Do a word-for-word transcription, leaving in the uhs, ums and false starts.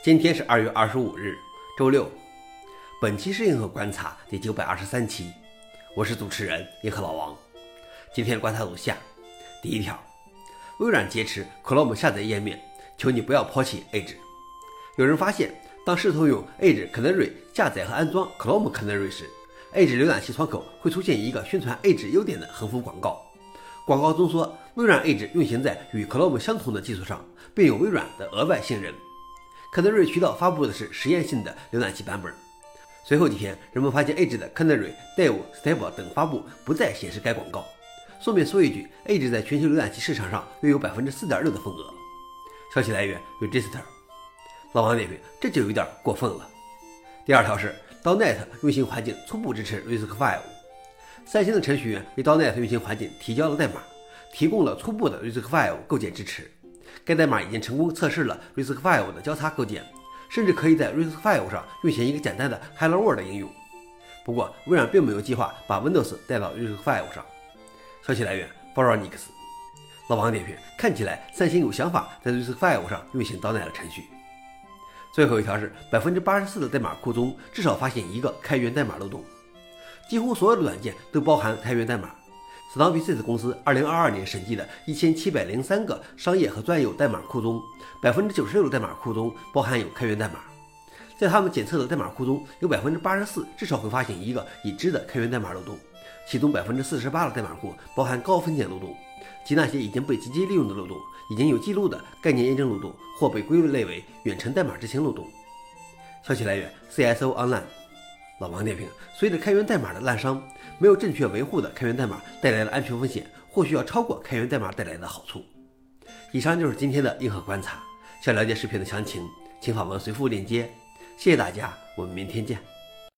今天是二月二十五日，周六。本期是硬核观察第九百二十三期，我是主持人硬核老王。今天观察如下：第一条，微软劫持 Chrome 下载页面，求你不要抛弃 Edge。有人发现，当试图用 Edge Canary 下载和安装 Chrome Canary 时， Edge 浏览器窗口会出现一个宣传 Edge 优点的横幅广告。广告中说，微软 Edge 运行在与 Chrome 相同的基础上，并有微软的额外信任。Canary 渠道发布的是实验性的浏览器版本。随后几天，人们发现 Edge 的 Canary、Dev、Stable 等发布不再显示该广告。顺便说一句 ，Edge 在全球浏览器市场上约有 百分之四点六 的份额。消息来源 Register。老王点评，这就有点过分了。第二条是 .D O T Net 运行环境初步支持 RISC-V。三星的程序员为 .D O T Net 运行环境提交了代码，提供了初步的 RISC-V 构建支持。该代码已经成功测试了 RISC-V 的交叉构建，甚至可以在 RISC-V 上运行一个简单的 Hello World 应用。不过，微软并没有计划把 Windows 带到 RISC-V 上。消息来源 Foronix。老王点评，看起来三星有想法在 RISC-V 上运行 .D O T Net 程序。最后一条是 百分之八十四 的代码库中至少发现一个开源代码漏洞。几乎所有的软件都包含开源代码。Snowbase 公司二零二二年审计的一千七百零三个商业和专有代码库中， 百分之九十六 的代码库中包含有开源代码。在他们检测的代码库中，有 百分之八十四 至少会发现一个已知的开源代码漏洞，其中 百分之四十八 的代码库包含高风险漏洞，即那些已经被直接利用的漏洞、已经有记录的概念验证漏洞或被归类为远程代码执行漏洞。消息来源 C S O Online。老王点评，随着开源代码的滥觞，没有正确维护的开源代码带来的安全风险或许要超过开源代码带来的好处。以上就是今天的硬核观察，想了解视频的详情请访问随附链接。谢谢大家，我们明天见。